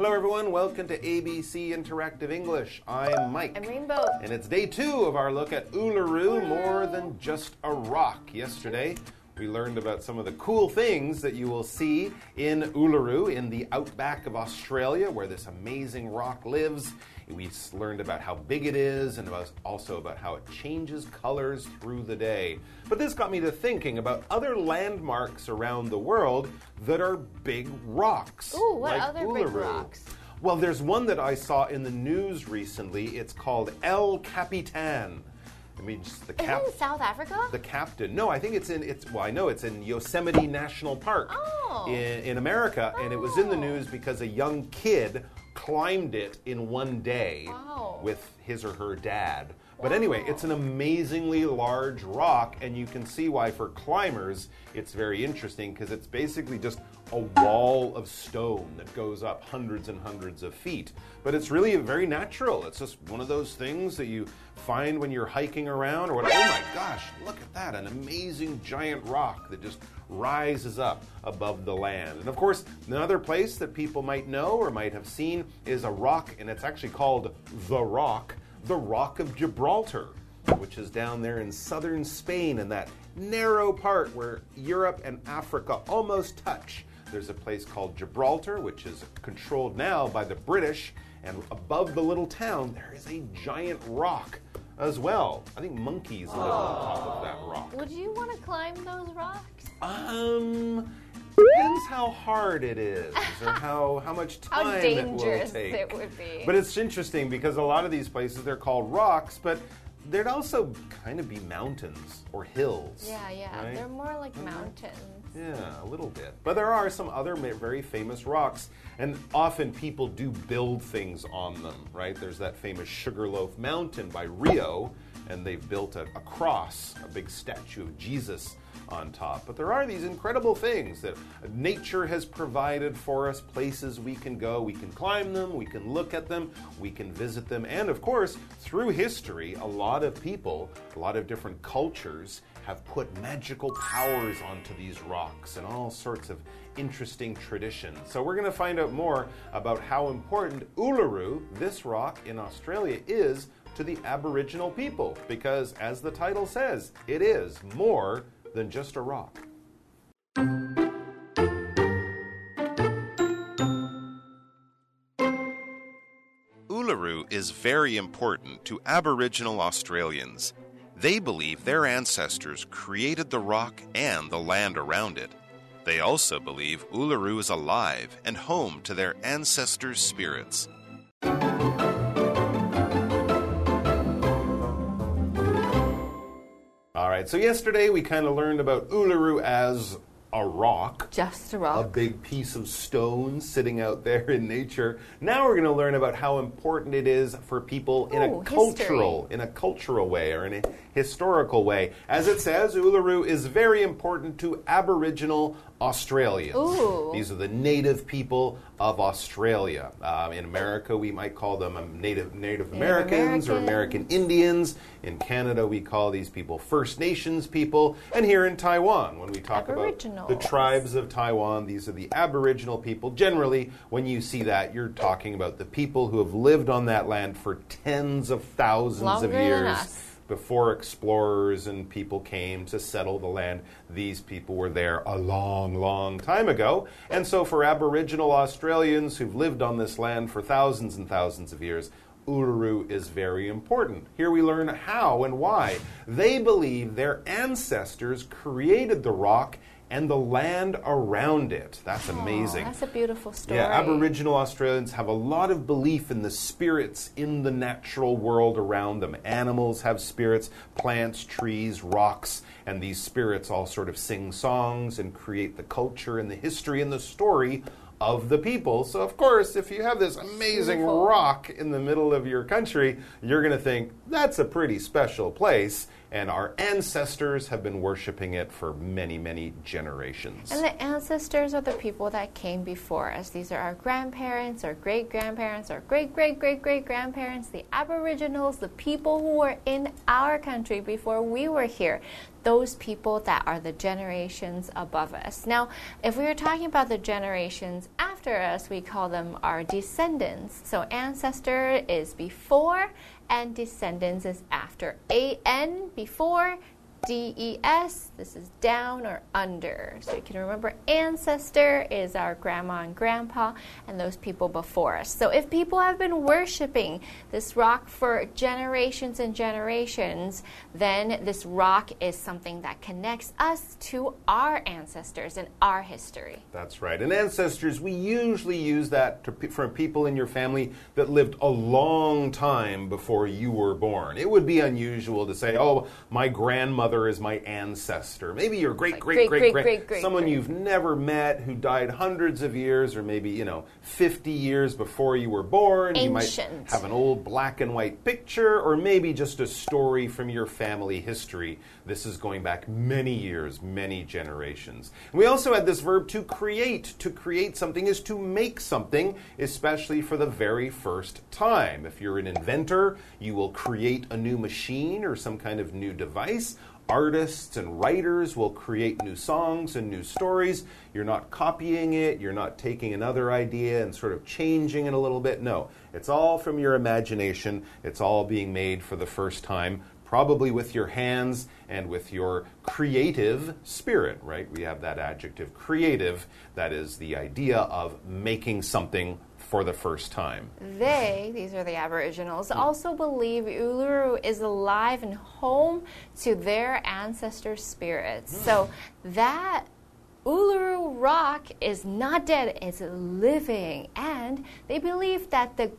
Hello everyone, welcome to ABC Interactive English. I'm Mike. I'm Rainbow. And it's day 2 of our look at Uluru, more than just a rock. Yesterday, we learned about some of the cool things that you will see in Uluru, in the outback of Australia, where this amazing rock lives. We learned about how big it is and also about how it changes colors through the day. But this got me to thinking about other landmarks around the world that are big rocks. Ooh, what like other Uluru. big rocks? Well, there's one that I saw in the news recently. It's called El Capitan. It means the Is it in South Africa? The captain. No, I think it's I know it's in Yosemite National Park in America, and it was in the news because a young kid climbed it in one day with his or her dad. But anyway, it's an amazingly large rock, and you can see why for climbers it's very interesting because it's basically just a wall of stone that goes up hundreds and hundreds of feet. But it's really very natural. It's just one of those things that you find when you're hiking around or whatever. Oh my gosh, look at that, an amazing giant rock that just rises up above the land. And of course, another place that people might know or might have seen is a rock, and it's actually called the Rock of Gibraltar, which is down there in southern Spain in that narrow part where Europe and Africa almost touch. There's a place called Gibraltar, which is controlled now by the British, and above the little town there is a giant rock as well. I think monkeys live on top of that rock. Would you want to climb those rocks? Depends how hard it is or how much time how it dangerous will take. it would be. But it's interesting because a lot of these places, they're called rocks, but there'd also kind of be mountains or hills. Yeah. Right? They're more like mountains. Yeah, a little bit. But there are some other very famous rocks, and often people do build things on them, right? There's that famous Sugarloaf Mountain by Rio, and they've built a cross, a big statue of Jesus on top. But there are these incredible things that nature has provided for us, places we can go, we can climb them, we can look at them, we can visit them, and of course, through history, a lot of people, a lot of different cultures have put magical powers onto these rocks and all sorts of interesting traditions. So we're going to find out more about how important Uluru, this rock in Australia, is to the Aboriginal people, because as the title says, it is more than just a rock. Uluru is very important to Aboriginal Australians. They believe their ancestors created the rock and the land around it. They also believe Uluru is alive and home to their ancestors' spirits. All right, so yesterday we kind of learned about Uluru as a rock. Just a rock. A big piece of stone sitting out there in nature. Now we're going to learn about how important it is for people in a cultural way or in a historical way. As it says, Uluru is very important to Aboriginal Australians. Ooh. These are the native people of Australia. In America, we might call them Native Americans or American Indians. In Canada, we call these people First Nations people. And here in Taiwan, when we talk about the tribes of Taiwan, these are the Aboriginal people. Generally, when you see that, you're talking about the people who have lived on that land for tens of thousands of years. Before explorers and people came to settle the land, these people were there a long, long time ago. And so for Aboriginal Australians who've lived on this land for thousands and thousands of years, Uluru is very important. Here we learn how and why. They believe their ancestors created the rock and the land around it. That's amazing. That's a beautiful story. Yeah, Aboriginal Australians have a lot of belief in the spirits in the natural world around them. Animals have spirits, plants, trees, rocks, and these spirits all sort of sing songs and create the culture and the history and the story of the people. So, of course, if you have this amazing rock in the middle of your country, you're going to think, that's a pretty special place. And our ancestors have been worshiping it for many, many generations. And the ancestors are the people that came before us. These are our grandparents, our great-grandparents, our great-great-great-great-grandparents, the Aboriginals, the people who were in our country before we were here. those people that are the generations above us. Now, if we were talking about the generations after us, we call them our descendants. So ancestor is before and descendants is after. A-N before, D-E-S, this is down or under. So you can remember ancestor is our grandma and grandpa and those people before us. So if people have been worshiping this rock for generations and generations, then this rock is something that connects us to our ancestors and our history. That's right. And ancestors, we usually use that for people in your family that lived a long time before you were born. It would be unusual to say, oh, my grandmother is my ancestor. Maybe your great, someone you've never met who died hundreds of years or maybe, 50 years before you were born. Ancient. You might have an old black and white picture or maybe just a story from your family history. This is going back many years, many generations. And we also had this verb to create. To create something is to make something, especially for the very first time. If you're an inventor, you will create a new machine or some kind of new device. Artists and writers will create new songs and new stories. You're not copying it. You're not taking another idea and sort of changing it a little bit. No, it's all from your imagination. It's all being made for the first time, probably with your hands and with your creative spirit, right? We have that adjective, creative. That is the idea of making something for the first time. These are the Aboriginals, also believe Uluru is alive and home to their ancestor spirits. So that Uluru Rock is not dead, it's living. And they believe that the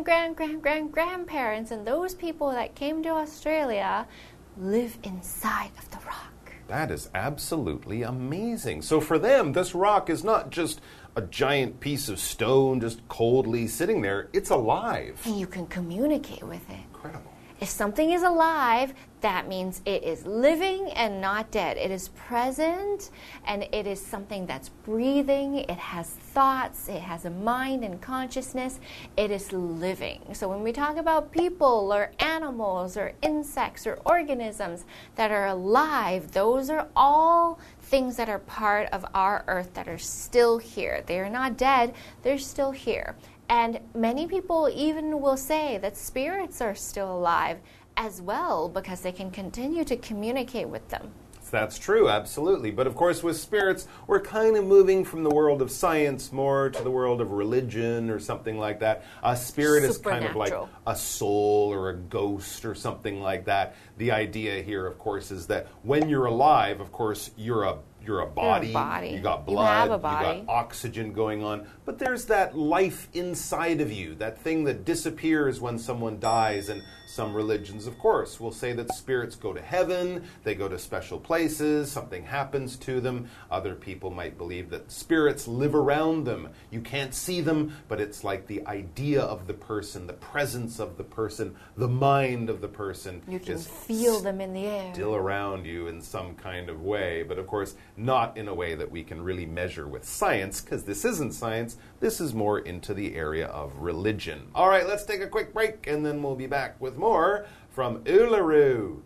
grandparents and those people that came to Australia live inside of the rock. That is absolutely amazing. So for them, this rock is not just a giant piece of stone just coldly sitting there. It's alive. And you can communicate with it. Incredible. If something is alive, that means it is living and not dead. It is present and it is something that's breathing. It has thoughts. It has a mind and consciousness. It is living. So when we talk about people or animals or insects or organisms that are alive, those are all things that are part of our earth that are still here. They are not dead. They're still here. And many people even will say that spirits are still alive as well because they can continue to communicate with them. That's true, absolutely. But of course, with spirits, we're kind of moving from the world of science more to the world of religion or something like that. A spirit is kind of like a soul or a ghost or something like that. The idea here, of course, is that when you're alive, of course, you're a body, you got blood, you got oxygen going on, but there's that life inside of you, that thing that disappears when someone dies. And some religions, of course, will say that spirits go to heaven, they go to special places, something happens to them. Other people might believe that spirits live around them. You can't see them, but it's like the idea of the person, the presence of the person, the mind of the person. You can feel them in the air. Still around you in some kind of way, but of course, not in a way that we can really measure with science, because this isn't science. This is more into the area of religion. All right, let's take a quick break, and then we'll be back with more from Uluru.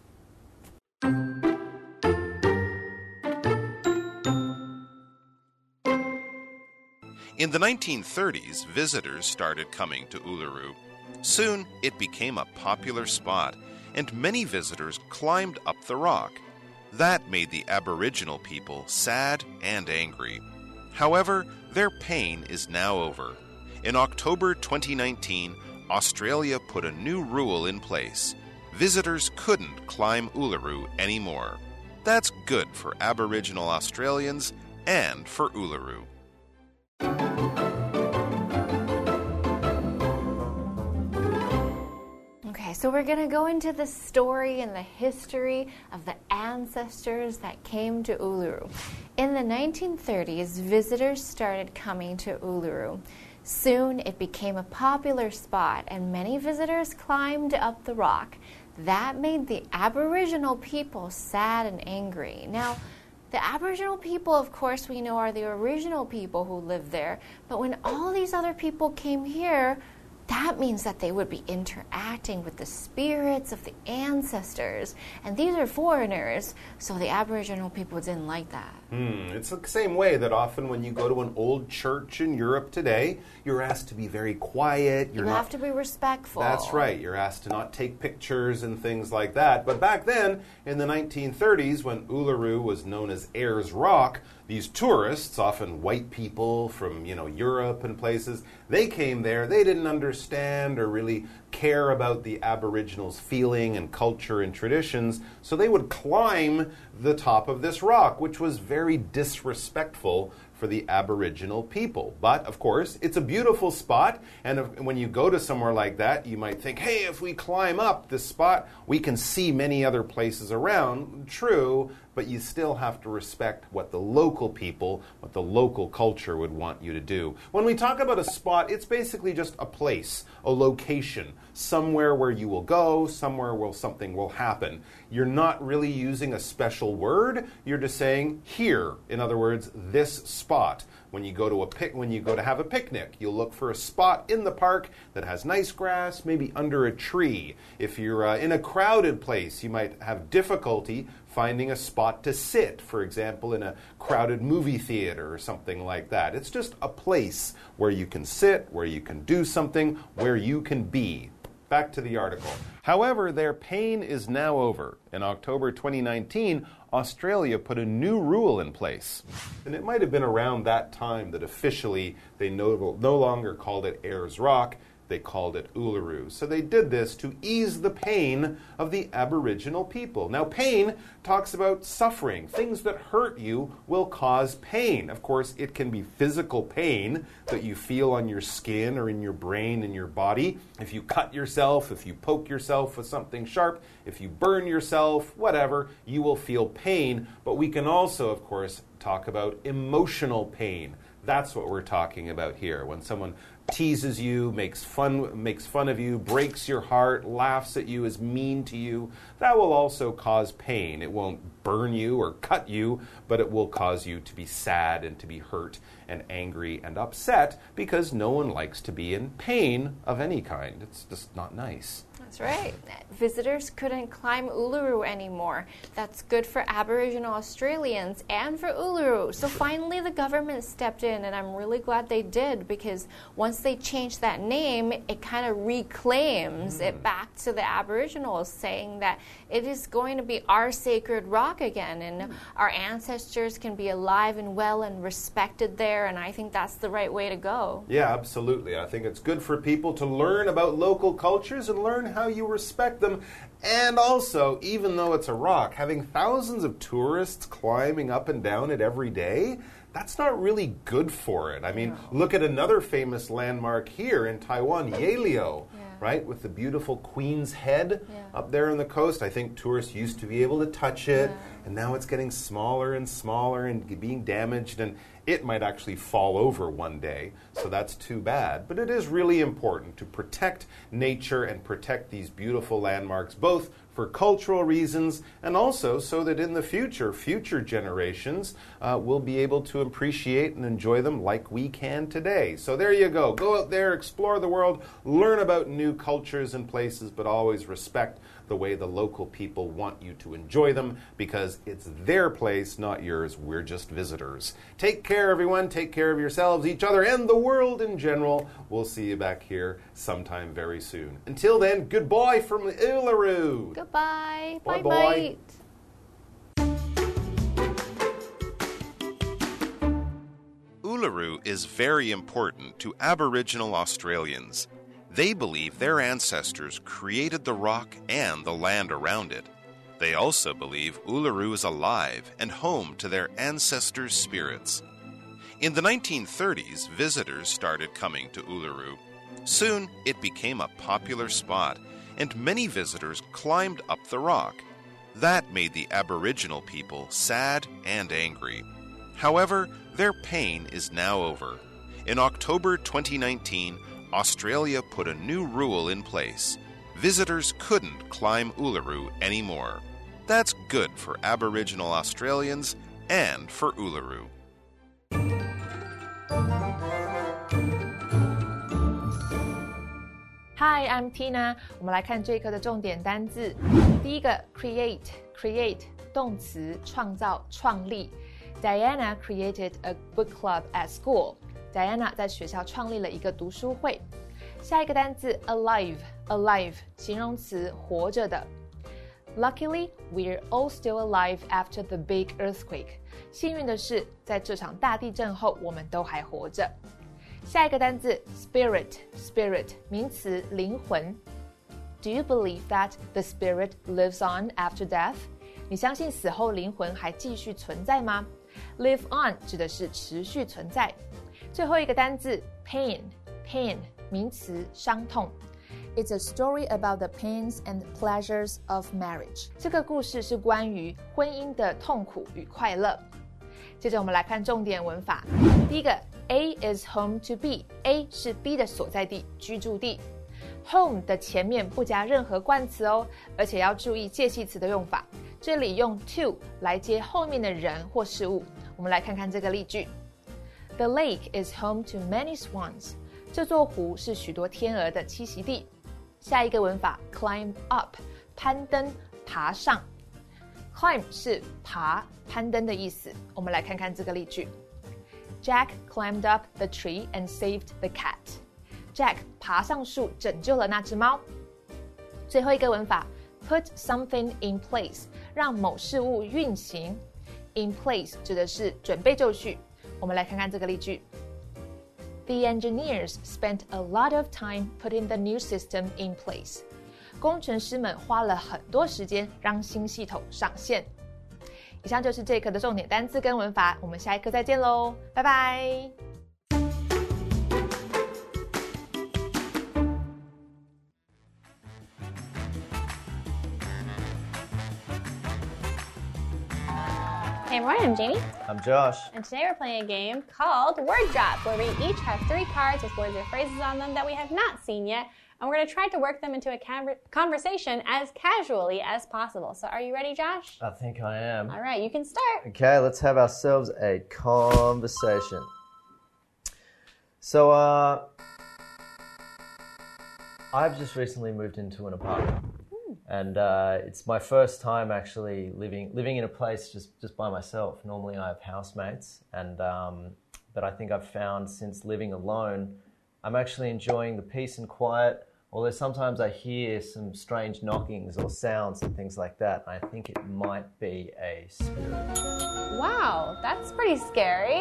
In the 1930s, visitors started coming to Uluru. Soon, it became a popular spot, and many visitors climbed up the rock. That made the Aboriginal people sad and angry. However, their pain is now over. In October 2019, Australia put a new rule in place. Visitors couldn't climb Uluru anymore. That's good for Aboriginal Australians and for Uluru. Okay, so we're going to go into the story and the history of the ancestors that came to Uluru. In the 1930s, visitors started coming to Uluru. Soon, it became a popular spot, and many visitors climbed up the rock. That made the Aboriginal people sad and angry. Now, the Aboriginal people, of course, we know are the original people who lived there, but when all these other people came here, that means that they would be interacting with the spirits of the ancestors. And these are foreigners, so the Aboriginal people didn't like that. It's the same way that often when you go to an old church in Europe today, you're asked to be very quiet. You have to be respectful. That's right. You're asked to not take pictures and things like that. But back then, in the 1930s, when Uluru was known as Ayers Rock, these tourists, often white people from, Europe and places, they came there. They didn't understand or really care about the Aboriginals' feeling and culture and traditions, so they would climb the top of this rock, which was very disrespectful for the Aboriginal people. But, of course, it's a beautiful spot, and when you go to somewhere like that, you might think, hey, if we climb up this spot, we can see many other places around. True, but you still have to respect what the local people, what the local culture would want you to do. When we talk about a spot, it's basically just a place, a location, somewhere where you will go, somewhere where something will happen. You're not really using a special word, you're just saying here. In other words, this spot. When you go to have a picnic, you'll look for a spot in the park that has nice grass, maybe under a tree. If you're in a crowded place, you might have difficulty finding a spot to sit, for example, in a crowded movie theater or something like that. It's just a place where you can sit, where you can do something, where you can be. Back to the article. However, their pain is now over. In October 2019, Australia put a new rule in place. And it might have been around that time that officially they no longer called it Ayers Rock, they called it Uluru. So they did this to ease the pain of the Aboriginal people. Now, pain talks about suffering. Things that hurt you will cause pain. Of course, it can be physical pain that you feel on your skin or in your brain, in your body. If you cut yourself, if you poke yourself with something sharp, if you burn yourself, whatever, you will feel pain. But we can also, of course, talk about emotional pain. That's what we're talking about here. When someone teases you, makes fun of you, breaks your heart, laughs at you, is mean to you, that will also cause pain. It won't burn you or cut you, but it will cause you to be sad and to be hurt and angry and upset because no one likes to be in pain of any kind. It's just not nice. That's right. Visitors couldn't climb Uluru anymore. That's good for Aboriginal Australians and for Uluru. So finally the government stepped in, and I'm really glad they did, because once they changed that name, it kind of reclaims it back to the Aboriginals, saying that it is going to be our sacred rock again, and our ancestors can be alive and well and respected there, and I think that's the right way to go. Yeah, absolutely. I think it's good for people to learn about local cultures and learn how you respect them. And also, even though it's a rock, having thousands of tourists climbing up and down it every day, that's not really good for it. I mean, look at another famous landmark here in Taiwan, Yaleo, right? With the beautiful Queen's Head up there on the coast. I think tourists used to be able to touch it, and now it's getting smaller and smaller and being damaged, and it might actually fall over one day, so that's too bad. But it is really important to protect nature and protect these beautiful landmarks, both for cultural reasons and also so that in the future generations will be able to appreciate and enjoy them like we can today. So there you go. Go out there, explore the world, learn about new cultures and places, but always respect the way the local people want you to enjoy them, because it's their place, not yours. We're just visitors. Take care, everyone. Take care of yourselves, each other, and the world in general. We'll see you back here sometime very soon. Until then, goodbye from Uluru. Goodbye. Bye-bye. Uluru is very important to Aboriginal Australians. They believe their ancestors created the rock and the land around it. They also believe Uluru is alive and home to their ancestors' spirits. In the 1930s, visitors started coming to Uluru. Soon, it became a popular spot, and many visitors climbed up the rock. That made the Aboriginal people sad and angry. However, their pain is now over. In October 2019, Australia put a new rule in place. Visitors couldn't climb Uluru anymore. That's good for Aboriginal Australians and for Uluru. Hi, I'm Tina. 我们來看這一課的重點單字。第一個 create 動詞創造、創立。Diana created a book club at school. Diana 在學校創立了一個讀書會。下一個單字 alive 形容詞活着的。Luckily, we're all still alive after the big earthquake. 幸運的是，在這場大地震後，我們都還活着。下一個單字 spirit 名詞靈魂。Do you believe that the spirit lives on after death? 你相信死後靈魂還繼續存在嗎？ Live on 指的是持續存在。最後一個單字 pain 名詞傷痛。It's a story about the pains and pleasures of marriage. 這個故事是關於婚姻的痛苦與快樂。接着我們來看重點文法。第一個 A is home to B. A 是 B 的所在地、居住地。Home 的前面不加任何冠詞哦，而且要注意介系詞的用法。這裡用 to 來接後面的人或事物。我們來看看這個例句。The lake is home to many swans. 這座湖是許多天鵝的棲息地。下一個文法 climb up 攀登爬上。climb 是爬攀登的意思。我們來看看這個例句。Jack climbed up the tree and saved the cat. Jack 爬上樹拯救了那隻貓。最後一個文法 put something in place 讓某事物運行。In place 指的是準備就緒。我們來看看這個例句。The engineers spent a lot of time putting the new system in place. 工程師們花了很多時間讓新系統上線。以上就是這一課的重點單字跟文法，我們下一課再見嘍，拜拜。 Hey everyone, I'm Jamie. I'm Josh. And today we're playing a game called Word Drop, where we each have 3 cards with words or phrases on them that we have not seen yet, and we're going to try to work them into a conversation as casually as possible. So are you ready, Josh? I think I am. All right, you can start. Okay, let's have ourselves a conversation. So, I've just recently moved into an apartment. And it's my first time actually living in a place just by myself. Normally I have housemates, but I think I've found since living alone, I'm actually enjoying the peace and quiet, although sometimes I hear some strange knockings or sounds and things like that. I think it might be a spirit. Wow, that's pretty scary.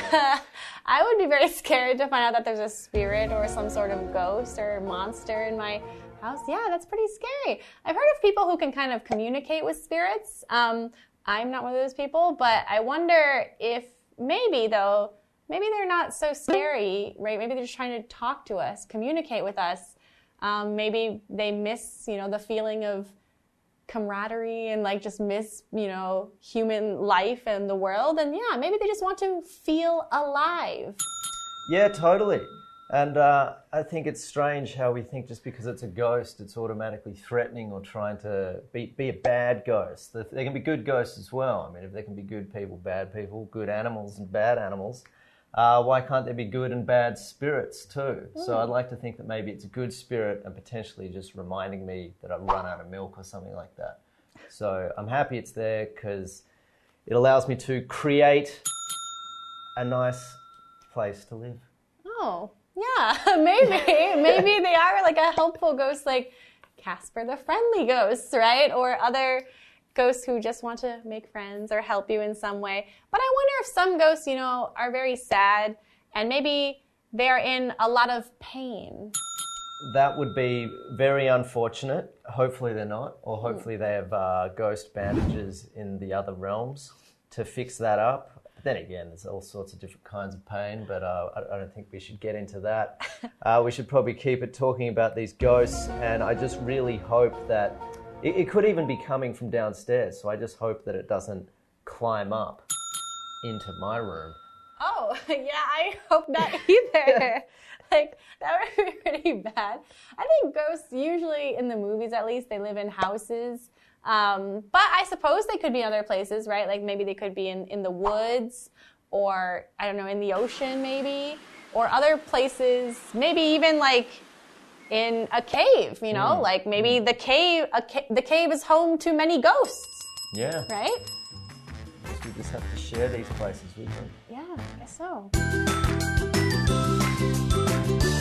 I would be very scared to find out that there's a spirit or some sort of ghost or monster in my house. Yeah, that's pretty scary. I've heard of people who can kind of communicate with spirits. I'm not one of those people, but I wonder if maybe they're not so scary, right? Maybe they're just trying to talk to us, communicate with us. Maybe they miss, the feeling of camaraderie and just miss, human life and the world. And yeah, maybe they just want to feel alive. Yeah, totally. And I think it's strange how we think just because it's a ghost, it's automatically threatening or trying to be a bad ghost. There can be good ghosts as well. I mean, if there can be good people, bad people, good animals and bad animals, why can't there be good and bad spirits too? So I'd like to think that maybe it's a good spirit and potentially just reminding me that I've run out of milk or something like that. So I'm happy it's there because it allows me to create a nice place to live. Oh. Yeah, maybe they are like a helpful ghost like Casper the Friendly Ghost, right? Or other ghosts who just want to make friends or help you in some way. But I wonder if some ghosts, are very sad and maybe they're in a lot of pain. That would be very unfortunate. Hopefully they're not, or hopefully they have ghost bandages in the other realms to fix that up. Then again, there's all sorts of different kinds of pain, but I don't think we should get into that. We should probably keep it talking about these ghosts, and I just really hope that it could even be coming from downstairs, so I just hope that it doesn't climb up into my room. Oh, yeah, I hope not either. That would be pretty bad. I think ghosts, usually in the movies at least, they live in houses. But I suppose they could be in other places, right? Like maybe they could be in the woods or, I don't know, in the ocean maybe, or other places, maybe even in a cave, you know, like maybe the cave is home to many ghosts. Yeah. Right? We just have to share these places with them. Yeah, I guess so.